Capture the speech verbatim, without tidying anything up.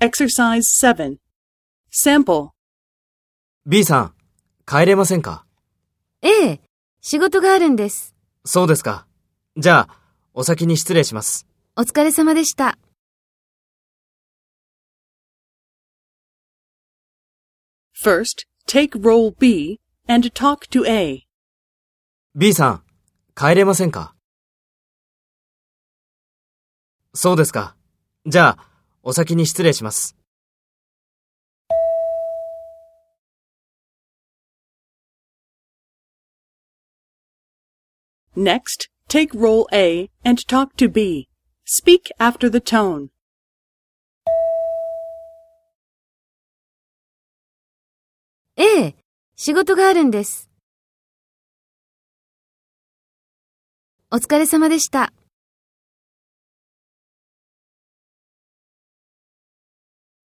Exercise seven. Sample. B さん、帰れませんか？ ええ、仕事があるんです。 そうですか。じゃあ、お先に失礼します。 お疲れ様でした。 First, take role B and talk to A. B さん、帰れませんか？そうですか。じゃあ、お先に失礼します。 Next, take role A and talk to B. Speak after the tone. ええ、仕事があるんです。お疲れ様でした。